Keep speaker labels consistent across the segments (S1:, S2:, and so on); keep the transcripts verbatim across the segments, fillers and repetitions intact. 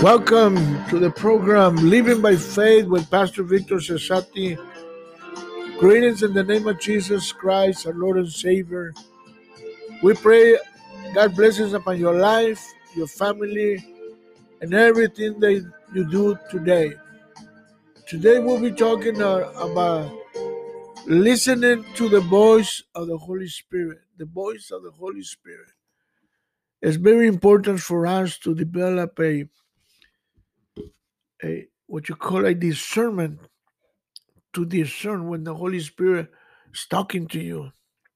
S1: Welcome to the program Living by Faith with Pastor Victor Cesati. Greetings in the name of Jesus Christ, our Lord and Savior. We pray God blesses upon your life, your family, and everything that you do today. Today we'll be talking uh, about listening to the voice of the Holy Spirit. The voice of the Holy Spirit. It's very important for us to develop a, a what you call a discernment, to discern when the Holy Spirit is talking to you.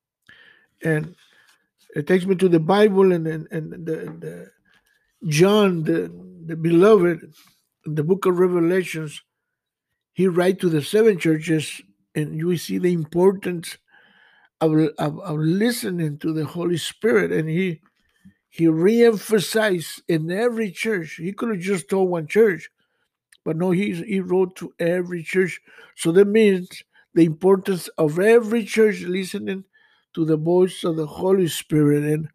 S1: And it takes me to the Bible and and, and the, the John, the, the beloved, in the book of Revelations, he writes to the seven churches, and you see the importance of, of, of listening to the Holy Spirit. And he he re-emphasized in every church. He could have just told one church, but no, he, he wrote to every church. So that means the importance of every church listening to the voice of the Holy Spirit. And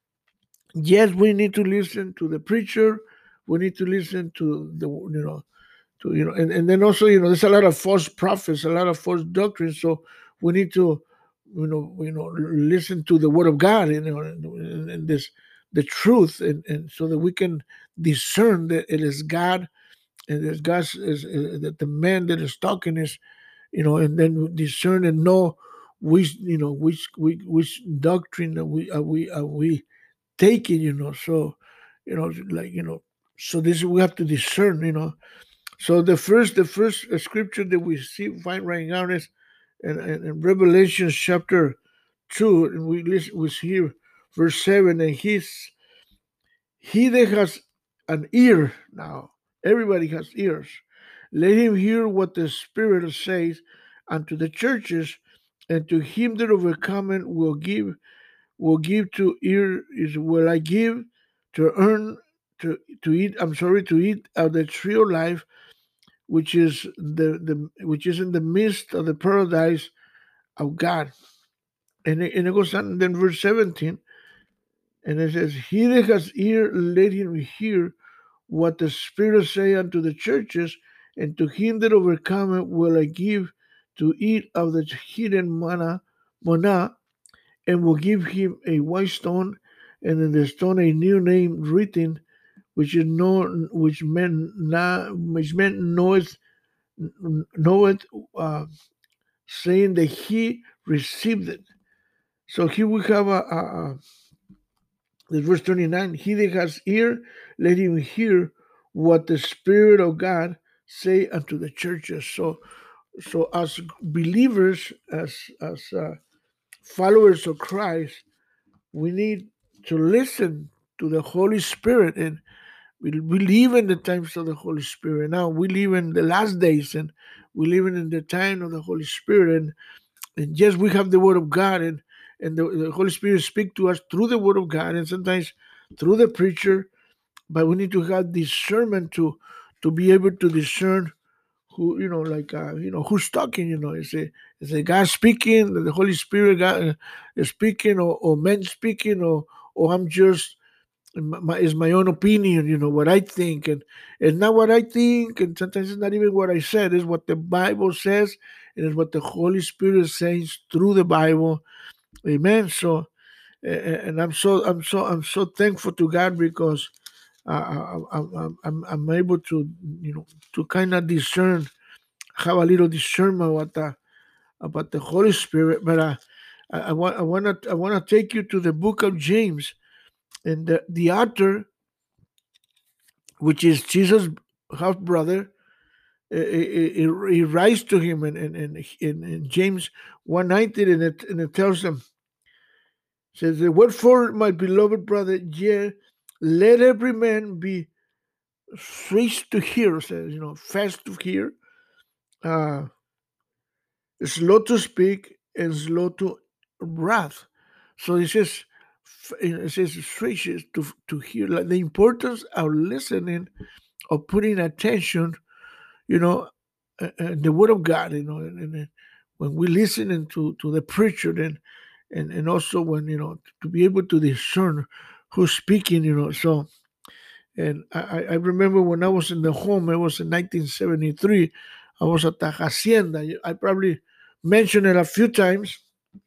S1: yes, we need to listen to the preacher. We need to listen to the, you know, to, you know, and, and then also, you know, there's a lot of false prophets, a lot of false doctrines. So we need to, you know, you know, listen to the word of God, you know, and, and this, the truth, and, and so that we can discern that it is God, and that God is, is that the man that is talking is, you know, and then discern and know which, you know, which which, which doctrine are we are we are we taking, you know. So, you know, like, you know, so this we have to discern, you know. So the first the first scripture that we see find right now is in, in, in Revelation chapter two, and we listen we see here verse seven, and he's he that has an ear now, everybody has ears. Let him hear what the Spirit says unto the churches, and to him that overcometh will give will give to ear is will I give to earn to to eat. I'm sorry to eat of the tree of life, which is the, the which is in the midst of the paradise of God. And it, and it goes on then verse seventeen, and it says, he that has ear, let him hear what the Spirit say unto the churches, and to him that overcometh will I give to eat of the hidden manna, manna, and will give him a white stone, and in the stone a new name written, which is known, which men na, which men knoweth, knoweth, uh, saying that he received it. So here we have a, a, a this verse twenty-nine. He that has ear, let him hear what the Spirit of God say unto the churches. So, so as believers, as as uh, followers of Christ, we need to listen to the Holy Spirit, and we, we live in the times of the Holy Spirit. Now we live in the last days, and we live in the time of the Holy Spirit. And, and yes, we have the Word of God, and and the, the Holy Spirit speak to us through the Word of God, and sometimes through the preacher. But we need to have discernment to to be able to discern who, you know, like uh, you know, who's talking. You know, is it is it God speaking, the Holy Spirit God uh, is speaking, or, or men speaking, or or I'm just my, is my own opinion, you know, what I think, and it's not what I think, and sometimes it's not even what I said. It's what the Bible says, and it's what the Holy Spirit says through the Bible. Amen. So, and I'm so I'm so I'm so thankful to God, because uh, I, I, I'm I'm able to, you know, to kind of discern, have a little discernment about the about the Holy Spirit. But uh, I, I want I want to I want to take you to the book of James, and the, the author, which is Jesus' half brother, he, he, he writes to him in in, in, in, in James one nineteen, and it and it tells him, says, wherefore, my beloved brother, yea, let every man be swift to hear, says, you know, fast to hear, uh, slow to speak, and slow to wrath. So it says, it says swift to to hear, like the importance of listening, of putting attention, you know, uh, uh, the word of God, you know, and, and when we listen to to the preacher, then and and also when, you know, to be able to discern who's speaking, you know. So And I, I I remember when I was in the home, it was in nineteen seventy-three. I was at the hacienda. I probably mentioned it a few times.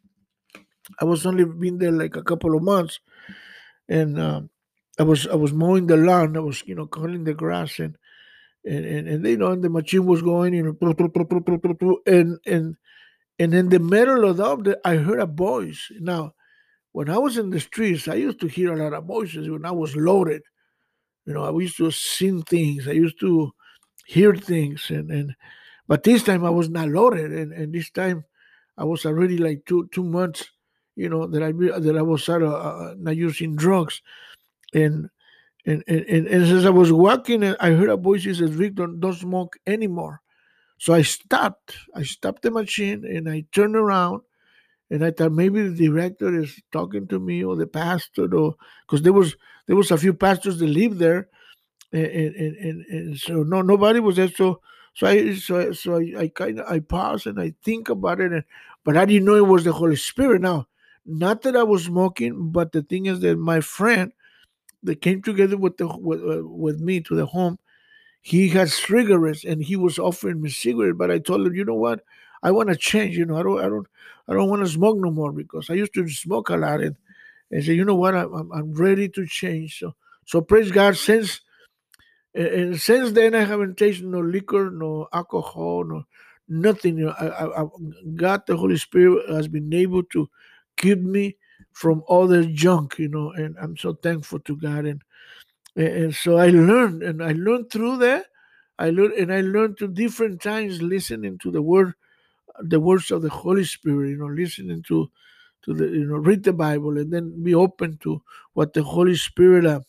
S1: I was only been there like a couple of months, and um, I was I was mowing the lawn. I was you know cutting the grass, and and and, and you know and the machine was going, you know, and and and in the middle of that, I heard a voice. Now, when I was in the streets, I used to hear a lot of voices when I was loaded. You know, I used to sing things. I used to hear things, and and but this time I was not loaded, and and this time I was already like two two months. You know that I be- that I was out of, uh, not using drugs, and and, and and and as I was walking, uh, I heard a voice that says, "Victor, don't smoke anymore." So I stopped. I stopped the machine and I turned around, and I thought maybe the director is talking to me or the pastor, or because there was there was a few pastors that lived there, and and, and, and so no nobody was there. So so I so I, so I, I kind of I paused and I think about it, and but I didn't know it was the Holy Spirit. Now, not that I was smoking, but the thing is that my friend that came together with the with, uh, with me to the home, he had cigarettes and he was offering me cigarette, but I told him, you know what? I want to change. You know, I don't, I don't, I don't want to smoke no more because I used to smoke a lot. And and say, you know what? I'm, I'm, I'm ready to change. So, so praise God. Since and and since then, I haven't tasted no liquor, no alcohol, no nothing. You know, I, I, I, God, the Holy Spirit, has been able to keep me from all the junk. You know, and I'm so thankful to God. And and, and so I learned, and I learned through that. I learned, and I learned to different times listening to the word, the words of the Holy Spirit. You know, listening to to the you know read the Bible, and then be open to what the Holy Spirit uh,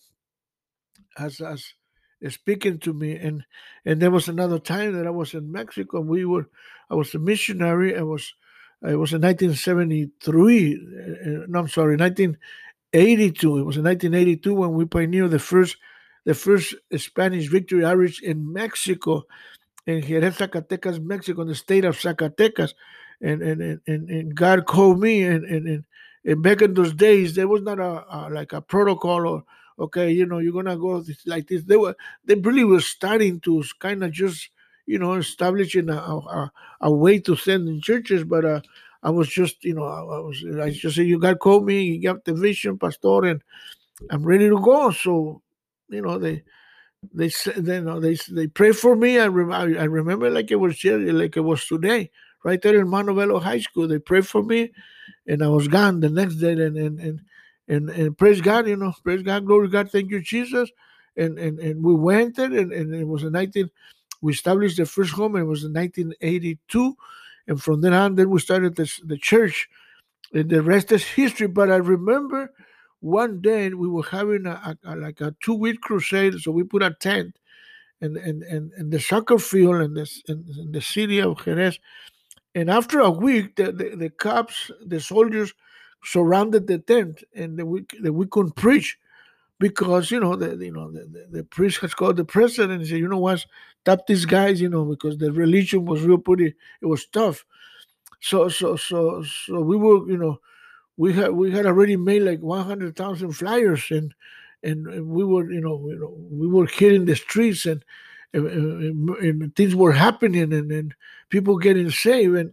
S1: has has is speaking to me. And and there was another time that I was in Mexico. And we were, I was a missionary. I was, I was in nineteen seventy-three. Uh, no, I'm sorry, nineteen eighty-two. It was in nineteen eighty-two when we pioneered the first the first Spanish Victory Outreach in Mexico, in Jerez, Zacatecas, Mexico, in the state of Zacatecas. And and and, and, and God called me, and, and and and back in those days there was not a, a like a protocol, or okay, you know, you're gonna go this, like this. They were they really were starting to kind of just you know establishing a, a, a way to send in churches, but uh I was just, you know, I, I was, I just said, you God called me, you got the vision, Pastor, and I'm ready to go. So, you know, they they said, you know, they they pray for me. I, rem- I I remember like it was yesterday, like it was today, right there in Montebello High School. They prayed for me, and I was gone the next day. And and and and, and praise God, you know, praise God, glory to God, thank you, Jesus. And and and we went there, and, and it was in nineteen. We established the first home, and it was in nineteen eighty-two, and from then on, then we started this the church, and the rest is history. But I remember one day we were having a, a, a like a two week crusade, so we put a tent in in, in, in the soccer field in this in, in the city of Jerez. And after a week, the, the, the cops, the soldiers, surrounded the tent, and the, we the, we couldn't preach because you know the you know the, the, the priest has called the president and said, you know what, stop these guys, you know, because the religion was real pretty, it was tough. So so so so we were, you know, we had we had already made like one hundred thousand flyers, and, and and we were, you know, you know we were hitting the streets, and and, and, and things were happening, and, and people getting saved, and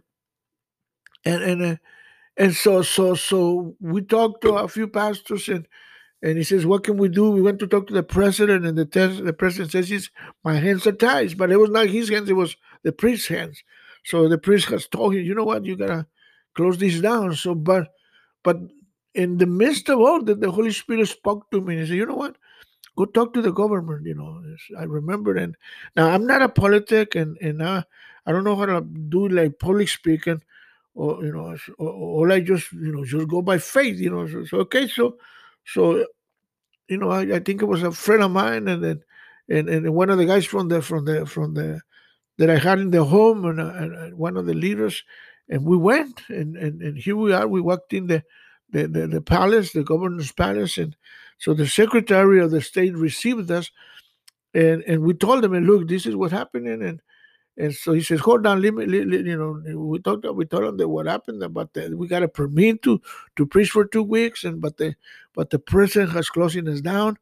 S1: and and, uh, and so so so we talked to a few pastors, and and he says, what can we do? We went to talk to the president, and the tes- the president says, he's, my hands are tied. But it was not his hands, it was the priest's hands. So the priest has told him, you know what, you gotta close this down. So but but in the midst of all that, the Holy Spirit spoke to me and he said, you know what? Go talk to the government. You know, I remember. And now I'm not a politic, and and uh, I don't know how to do like public speaking, or you know, or, or I just you know just go by faith. You know, so, so okay, so so you know, I, I think it was a friend of mine, and then and, and one of the guys from the from the from the that I had in the home, and, uh, and, and one of the leaders, and we went, and, and, and here we are. We walked in the, the, the, the palace, the governor's palace, and so the secretary of the state received us, and, and we told him, and look, this is what's happening, and and so he says, hold on, let me, let, let- you know, we talked, we told him that what happened, but the, we got a permit to to preach for two weeks, and but the but the president has closing us down.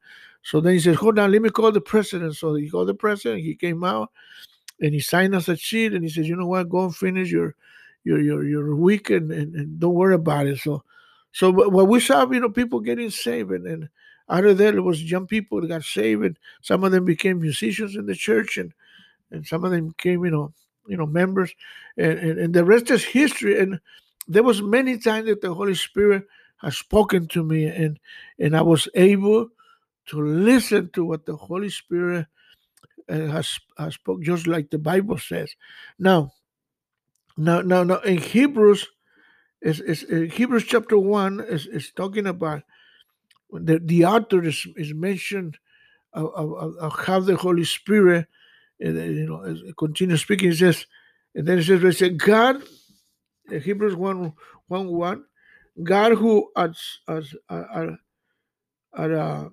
S1: So then he says, hold on, let me call the president. So he called the president. He came out and he signed us a sheet, and he says, you know what, go and finish your your your, your week, and, and, and don't worry about it. So so what we saw, you know, people getting saved, and, and out of there, there was young people that got saved, and some of them became musicians in the church, and and some of them became, you know, you know, members, and, and, and the rest is history. And there was many times that the Holy Spirit has spoken to me, and and I was able to listen to what the Holy Spirit uh, has, has spoke, just like the Bible says. Now, now, now, now, in Hebrews, is is uh, Hebrews chapter one is, is talking about the the author is, is mentioned of, of, of how the Holy Spirit, uh, you know, is- continues speaking. It says, and then it says, it says God, uh, Hebrews one one one, God who as as uh, uh, uh,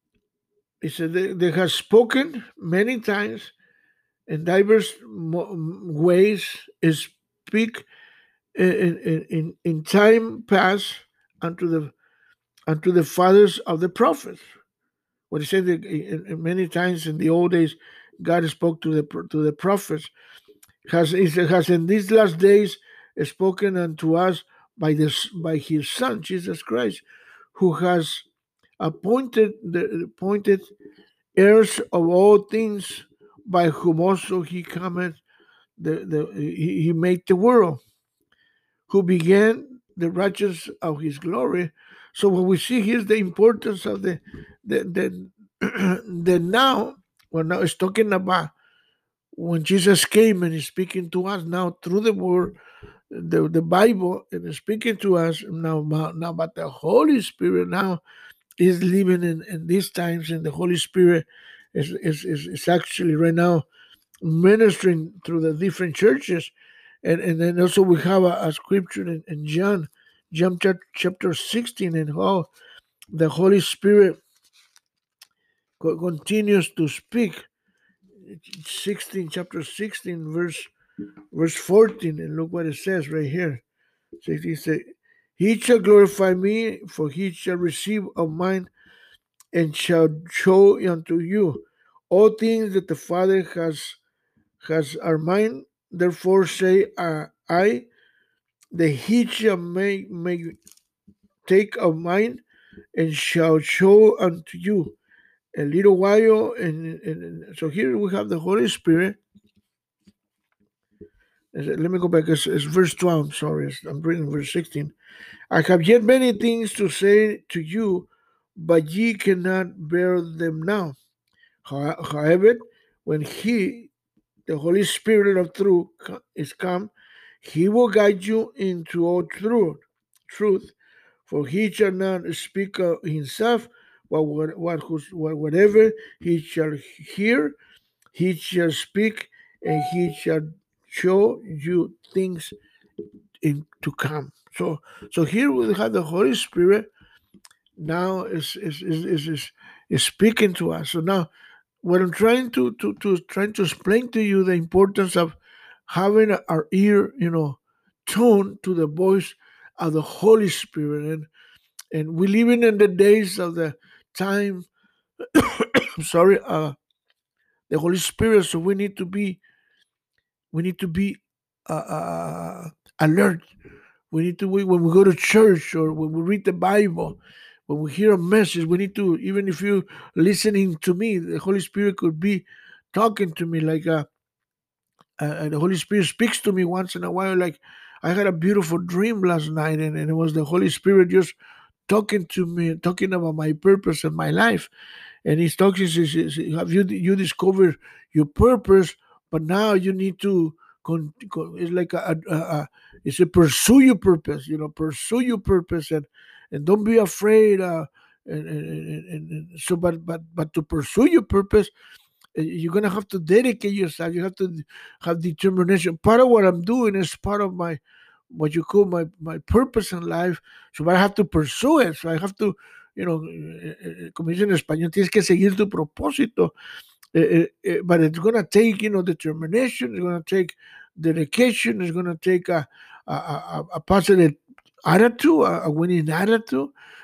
S1: it said they, they has spoken many times in diverse ways, is speak in, in, in, in time past unto the unto the fathers of the prophets. What he said that in, in many times in the old days, God spoke to the to the prophets. Has has in these last days spoken unto us by this by His Son Jesus Christ, who has appointed the appointed heirs of all things, by whom also He cometh the, the he, he made the world, who began the righteous of his glory. So when we see here's the importance of the the the, the now, well, now it's talking about when Jesus came and is speaking to us now through the word, the, the Bible, and is speaking to us now about, now about the Holy Spirit now is living in, in these times, and the Holy Spirit is, is, is, is actually right now ministering through the different churches. And, and then also we have a, a scripture in, in John, John chapter sixteen, and how the Holy Spirit co- continues to speak. sixteen, chapter sixteen, verse verse fourteen, and look what it says right here. sixteen says, He shall glorify me, for he shall receive of mine, and shall show unto you all things that the Father has has are mine. Therefore say uh, I, that he shall make, make take of mine, and shall show unto you a little while. And, and so here we have the Holy Spirit. Let me go back. It's, it's verse twelve. Sorry, I'm reading verse sixteen. I have yet many things to say to you, but ye cannot bear them now. However, when He, the Holy Spirit of truth, is come, He will guide you into all truth. Truth, for He shall not speak of Himself, but what, what, whatever He shall hear, He shall speak, and He shall show you things in to come. So, so here we have the Holy Spirit now is is is is, is, is speaking to us. So now, what I'm trying to to to trying to explain to you the importance of having our ear, you know, tuned to the voice of the Holy Spirit, and and we living in the days of the time. I'm sorry, uh, the Holy Spirit. So we need to be we need to be uh, uh, alert. We need to we, when we go to church or when we read the Bible, when we hear a message, we need to, even if you're listening to me, the Holy Spirit could be talking to me like uh, uh, the Holy Spirit speaks to me once in a while. Like I had a beautiful dream last night, and, and it was the Holy Spirit just talking to me, talking about my purpose and my life. And he's talking, he says, have you you discovered your purpose, but now you need to con, con, it's like a, a, a it's a pursue your purpose, you know, pursue your purpose, and and don't be afraid, uh and, and, and, and so but but but to pursue your purpose, uh, you're gonna have to dedicate yourself. You have to have determination. Part of what I'm doing is part of my what you call my my purpose in life. So I have to pursue it. So I have to, you know, eh, eh, como dicen en español, tienes que seguir tu propósito. Eh, eh, but it's gonna take, you know, determination. It's gonna take dedication. It's gonna take a a, a, a positive attitude, a, a winning attitude.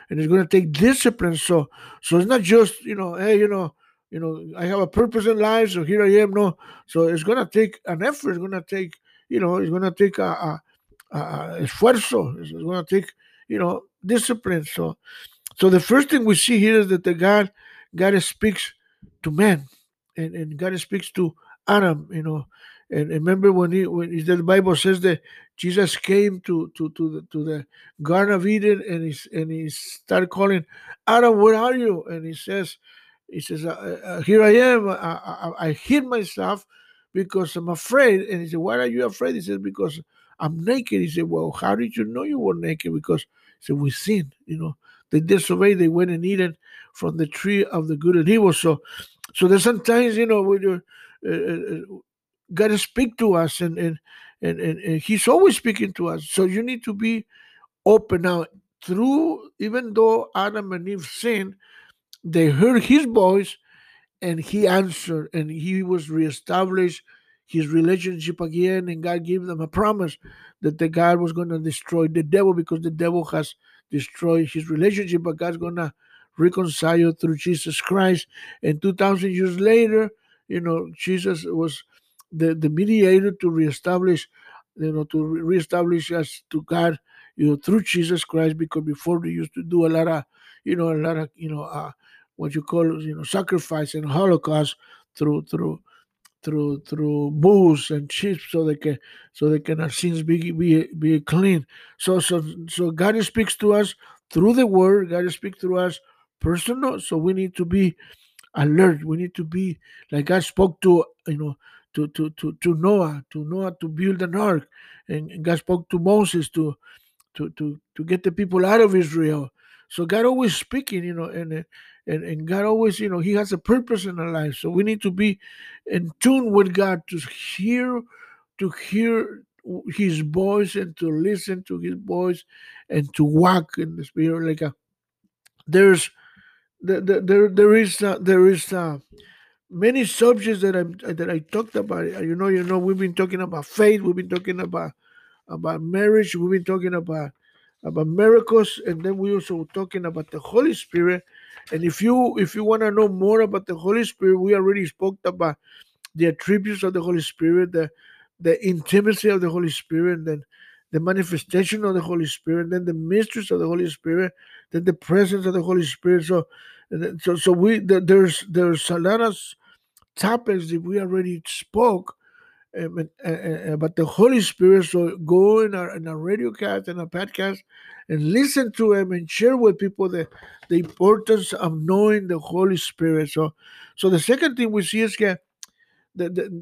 S1: and it's going to take discipline. So, so it's not just, you know, hey, you know, you know, I have a purpose in life, so here I am. No, so it's going to take an effort. It's going to take, you know, it's going to take a, a, a esfuerzo. It's going to take, you know, discipline. So, so the first thing we see here is that the God, God speaks to man, and, and God speaks to Adam. You know, and, and remember when he when he, the Bible says that Jesus came to to to the, to the Garden of Eden, and he and he started calling, Adam, where are you? And he says, he says, uh, uh, here I am. I, I, I hid myself because I'm afraid. And he said, why are you afraid? He said, because I'm naked. He said, well, how did you know you were naked? Because he said, we sinned. You know, they disobeyed. They went and eaten from the tree of the good and evil. So, so there's sometimes, you know, when you're, uh, uh, God to speak to us, and, and and, and and He's always speaking to us. So you need to be open now. Through, even though Adam and Eve sinned, they heard His voice, and He answered, and He was reestablished his relationship again, and God gave them a promise that the God was going to destroy the devil, because the devil has destroyed his relationship, but God's going to reconcile through Jesus Christ. And two thousand years later, you know, Jesus was the, the mediator to reestablish, you know, to re- reestablish us to God, you know, through Jesus Christ, because before they used to do a lot of, you know, a lot of, you know, uh, what you call, you know, sacrifice and Holocaust through through through through bulls and sheep, so they can so they can our sins be be be clean. So so so God speaks to us through the word. God speaks through us personal. So we need to be alert. We need to be like God spoke to, you know, to to to, to Noah, to Noah to build an ark, and, and God spoke to Moses to to to to get the people out of Israel. So God always speaking, you know, and uh, and and God always, you know, He has a purpose in our life. So we need to be in tune with God to hear to hear His voice, and to listen to His voice, and to walk in the Spirit. Like a, there's there there there there is uh, there is uh, many subjects that I that I talked about. Uh, You know, you know, we've been talking about faith. We've been talking about about marriage. We've been talking about about miracles, and then we also talking about the Holy Spirit. And if you if you want to know more about the Holy Spirit, we already spoke about the attributes of the Holy Spirit, the the intimacy of the Holy Spirit, and then the manifestation of the Holy Spirit, then the mysteries of the Holy Spirit, then the presence of the Holy Spirit. So, so, so we there's there's a lot of topics that we already spoke, um, uh, uh, about the Holy Spirit. So go in our in our radio cast and our podcast, and listen to him, and share with people the the importance of knowing the Holy Spirit. So, so the second thing we see is that the, the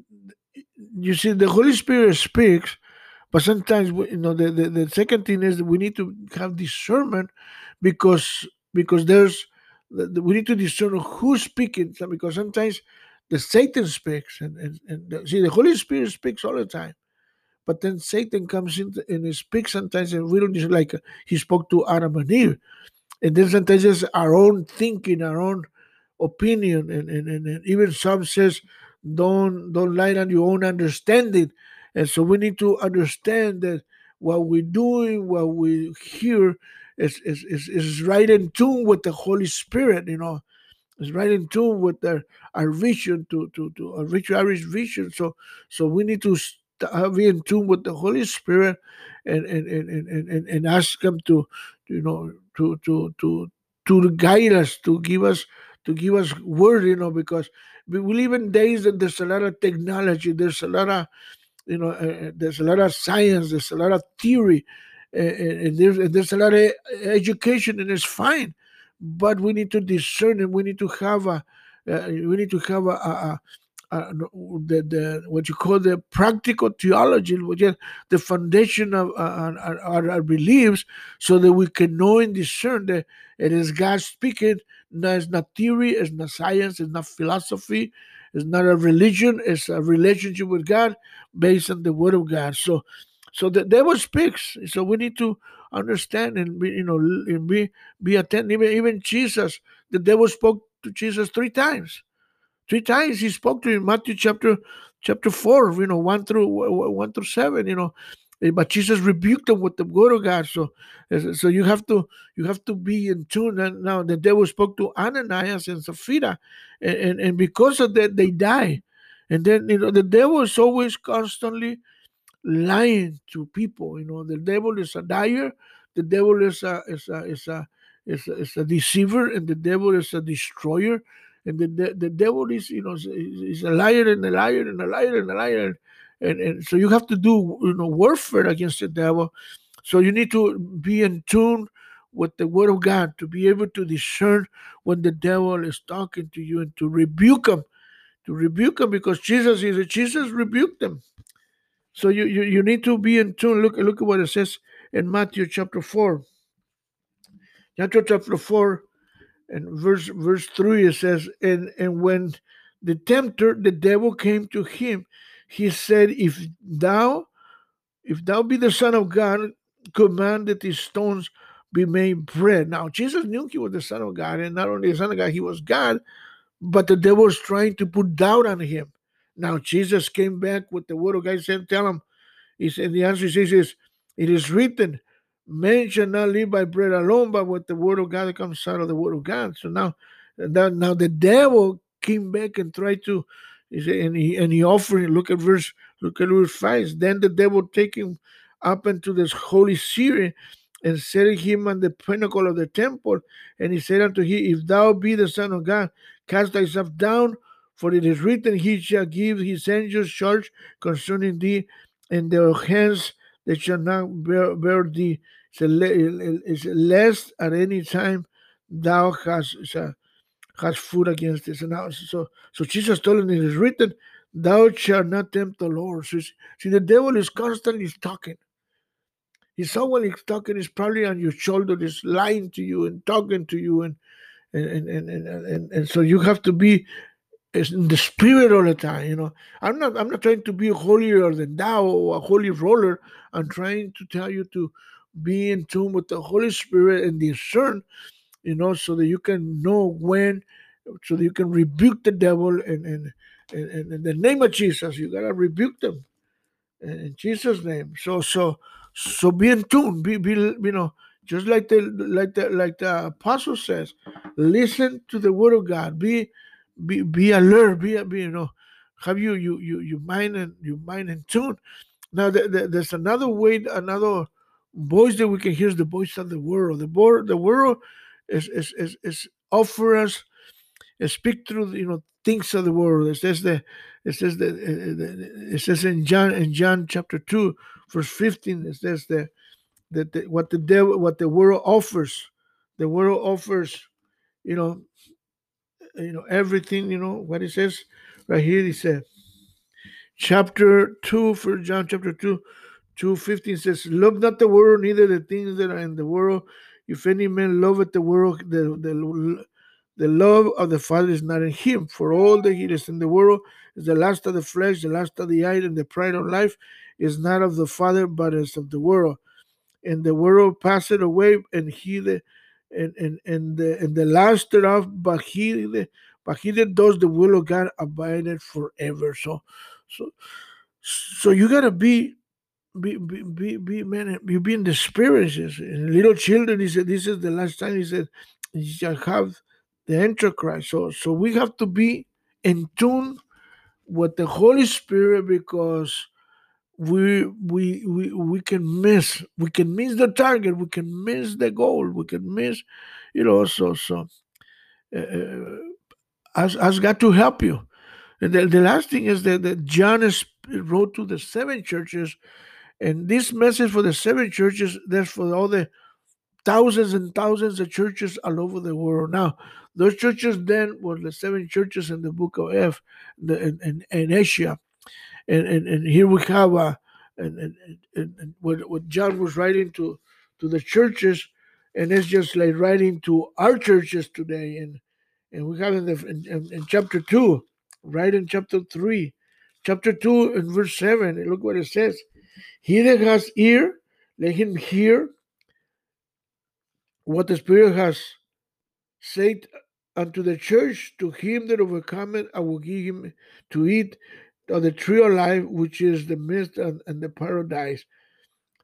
S1: you see the Holy Spirit speaks, but sometimes we, you know the, the the second thing is that we need to have discernment, because because there's the, the- we need to discern who's speaking. So, because sometimes the Satan speaks, and, and, and the, see the Holy Spirit speaks all the time, but then Satan comes in and he speaks sometimes, and we don't just like uh, he spoke to Adam and Eve, and then sometimes it's our own thinking, our own opinion, and, and, and, and even some says don't don't lie on your own understanding. And so we need to understand that what we're doing, what we hear, is is, is, is right in tune with the Holy Spirit, you know. It's right in tune with our, our vision, to to to our rich Irish vision. So so we need to st- uh, be in tune with the Holy Spirit, and and and and, and, and and ask Him to, you know, to to to to guide us, to give us to give us word, you know, because we we live in days that there's a lot of technology, there's a lot of, you know, uh, there's a lot of science, there's a lot of theory, uh, and there's and there's a lot of education, and it's fine, but we need to discern, and we need to have a uh, we need to have a, a, a, a the, the what you call the practical theology, which is the foundation of uh, our, our, our beliefs, so that we can know and discern that it is God speaking. No, it's not theory, it's not science, it's not philosophy, it's not a religion, it's a relationship with God based on the Word of God. So, so the devil speaks. So we need to understand, and be, you know, and be be attentive. Even, even Jesus, the devil spoke to Jesus three times. Three times he spoke to him. Matthew chapter chapter four, you know, one through one through seven. You know, but Jesus rebuked them with the word of God. So, so you have to you have to be in tune. And now the devil spoke to Ananias and Sapphira, and, and, and because of that they die. And then you know the devil is always constantly lying to people. You know, the devil is a liar, the devil is a is a is a is a, is a deceiver, and the devil is a destroyer. And the the, the devil is you know is, is a liar and a liar and a liar and a liar. And, and so you have to do you know warfare against the devil. So you need to be in tune with the word of God to be able to discern when the devil is talking to you and to rebuke him, to rebuke him because Jesus is Jesus rebuked them. So you, you, you need to be in tune. Look, look at what it says in Matthew chapter four. Matthew chapter four and verse verse three, it says, and, and when the tempter, the devil came to him, he said, If thou, if thou be the Son of God, command that these stones be made bread. Now Jesus knew he was the Son of God, and not only the Son of God, he was God, but the devil was trying to put doubt on him. Now Jesus came back with the word of God and said, Tell him, he said, the answer is, is, it is written, man shall not live by bread alone, but with the word of God that comes out of the word of God. So now, that, now the devil came back and tried to, he said, and he and he offered. Look at verse, look at verse five. Then the devil take him up into this holy city and set him on the pinnacle of the temple. And he said unto him, If thou be the Son of God, cast thyself down, for it is written, He shall give his angels charge concerning thee, and their hands they shall not bear, bear thee. So lest at any time thou hast uh, has food against this. And now, so so Jesus told him, it is written, Thou shalt not tempt the Lord. So see, the devil is constantly talking. If someone is talking, is probably on your shoulder, is lying to you and talking to you, and and and and, and, and, and so you have to be is in the spirit all the time. You know, I'm not I'm not trying to be holier than thou or a holy roller. I'm trying to tell you to be in tune with the Holy Spirit and discern, you know, so that you can know when, so that you can rebuke the devil, and and, and, and in the name of Jesus, you gotta rebuke them in Jesus' name. So so so be in tune. Be be you know, just like the like the like the apostle says, listen to the word of God. Be be be alert. Be be you know, have you you you you mind and you mind in tune. Now the, the, there's another way, another voice that we can hear is the voice of the world. The world the world is is is, is offer us, speak through you know things of the world. It says the it says that it says in John in John chapter two verse fifteen. It says that that the, what the devil what the world offers, the world offers you know you know everything. You know what it says right here. He said chapter two for John chapter two. two fifteen says, Love not the world, neither the things that are in the world. If any man loveth the world, the, the the love of the Father is not in him. For all that he is in the world is the lust of the flesh, the lust of the eye, and the pride of life is not of the Father, but is of the world. And the world passeth away, and he the and and and the and the lust thereof, but he the, but he that does the will of God abideth forever. So, so, so you gotta be be be be, be man, you be in the spirit. And little children, he said, this is the last time. He said, you shall have the Antichrist. So so we have to be in tune with the Holy Spirit, because we we we we can miss we can miss the target, we can miss the goal, we can miss, you know. So so uh, has has got to help you. And the, the last thing is that, that John is, wrote to the seven churches, and this message for the seven churches, that's for all the thousands and thousands of churches all over the world. Now, those churches then were the seven churches in the book of F, the, in, in, in Asia. And, and, and here we have uh, and, and, and, and what, what John was writing to, to the churches, and it's just like writing to our churches today. And and we have in, the, in, in, in chapter two, right in chapter three, chapter two and verse seven, and look what it says. He that has ear, let him hear what the Spirit has said unto the church. To him that overcometh, I will give him to eat of the tree of life, which is the midst and, and the paradise.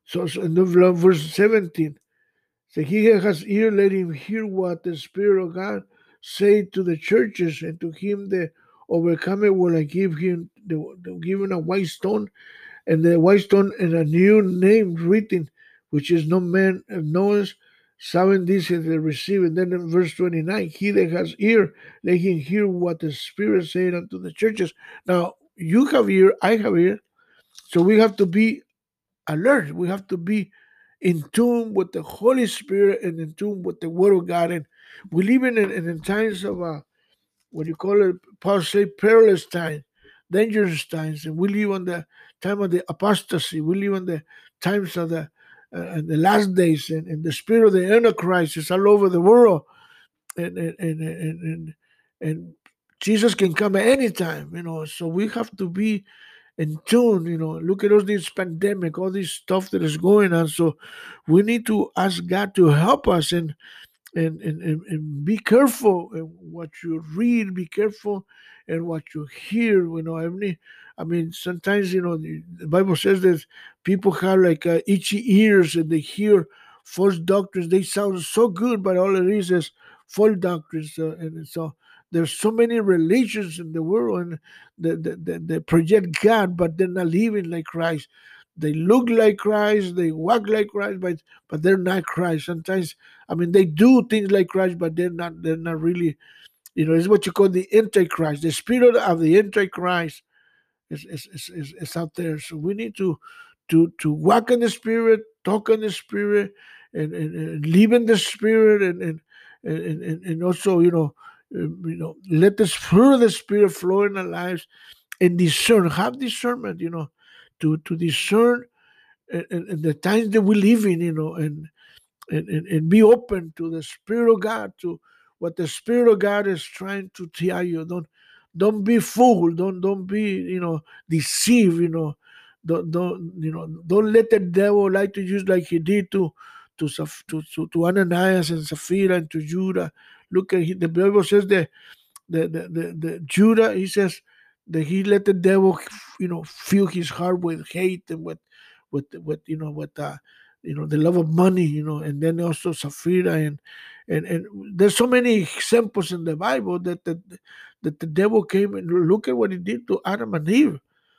S1: So, so in the verse seventeen, so he that has ear, let him hear what the Spirit of God say to the churches, and to him that overcometh will I give him the, the given a white stone, and the white stone and a new name written, which is no man knows. Seven these they receive. And then in verse twenty-nine, he that has ear, let him hear what the Spirit said unto the churches. Now, you have ear, I have ear, so we have to be alert. We have to be in tune with the Holy Spirit and in tune with the Word of God. And we live in, in, in times of uh, what you call it, Paul say, perilous times, dangerous times, and we live on the time of the apostasy. We live on the times of the uh, the last days, and, and the spirit of the Antichrist is all over the world, and and and and, and, and Jesus can come at any time, you know. So we have to be in tune, you know. Look at all this pandemic, all this stuff that is going on. So we need to ask God to help us, and and, and, and, and be careful in what you read, be careful in what you hear. You know, I mean, I mean, sometimes, you know, the, the Bible says that people have like uh, itchy ears and they hear false doctrines. They sound so good, but all it is is false doctrines. Uh, and so there's so many religions in the world, and they, they, they, they project God, but they're not living like Christ. They look like Christ, they walk like Christ, but but they're not Christ. Sometimes, I mean, they do things like Christ, but they're not. They're not really. You know, it's what you call the Antichrist. The spirit of the Antichrist is is, is, is, is out there. So we need to to to walk in the Spirit, talk in the Spirit, and, and, and live in the Spirit, and and and, and, and also, you know, um, you know, let the fruit of the Spirit flow in our lives, and discern, have discernment, you know, to to discern and, and, and the times that we live in, you know, and and, and, and be open to the Spirit of God, to what the Spirit of God is trying to tell you. Don't don't be fooled. Don't don't be, you know, deceived. You know, don't don't you know don't let the devil lie to you like he did to to Saph- to to, to Ananias and Sapphira and to Judah. Look at he, the Bible says that the the, the the Judah, he says that he let the devil, you know, fill his heart with hate and with with with you know with uh you know the love of money, you know. And then also Sapphira, and and and there's so many examples in the Bible that the that the devil came, and look at what he did to Adam and Eve.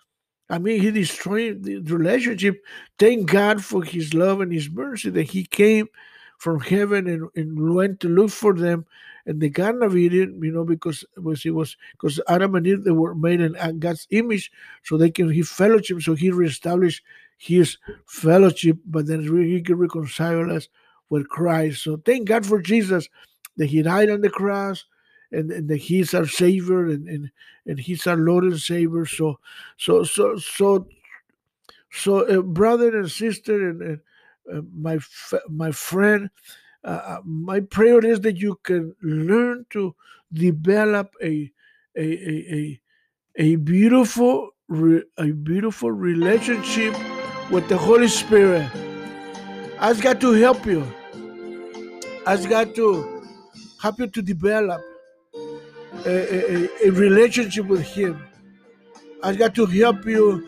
S1: I mean, he destroyed the relationship. Thank God for his love and his mercy that he came from heaven, and, and went to look for them in the Garden of Eden, you know, because it was, it was because Adam and Eve, they were made in God's image, so they can he fellowship, so he reestablished his fellowship, but then he can reconcile us with Christ. So thank God for Jesus, that he died on the cross, and, and that he's our Savior, and, and, and he's our Lord and Savior. So so so so so uh, brother and sister, and, and uh, my f- my friend, uh, uh, my prayer is that you can learn to develop a a a a, a beautiful re- a beautiful relationship with the Holy Spirit. Ask God to help you. Ask God to help you to develop a, a, a a relationship with Him. Ask God to help you,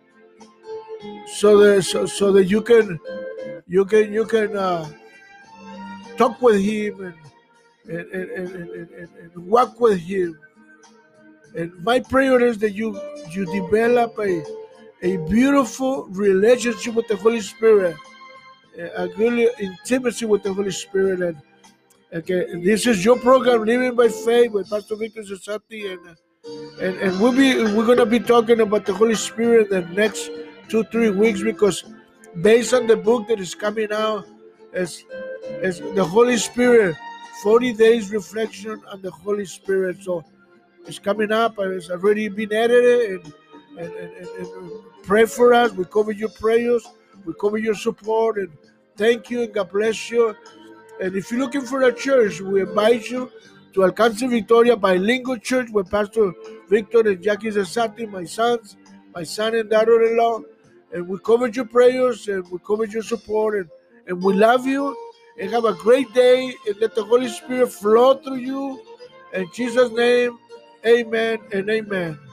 S1: so that so, so that you can you can you can uh, talk with Him, and and, and, and, and, and, and walk with Him. And my prayer is that you you develop a a beautiful relationship with the Holy Spirit, a a good intimacy with the Holy Spirit. And okay, this is your program, Living by Faith, with Pastor Victor Cesati, and and and we'll be we're gonna be talking about the Holy Spirit the next two three weeks, because based on the book that is coming out, as as the Holy Spirit, forty days reflection on the Holy Spirit. So it's coming up, and it's already been edited, and and, and, and, and pray for us. We cover your prayers, we cover your support, and thank you, and God bless you. And if you're looking for a church, we invite you to Alcance Victoria Bilingual Church with Pastor Victor and Jackie Zesati, my sons, my son and daughter-in-law. And we cover your prayers, and we cover your support, and, and we love you. And have a great day, and let the Holy Spirit flow through you. In Jesus' name, amen and amen.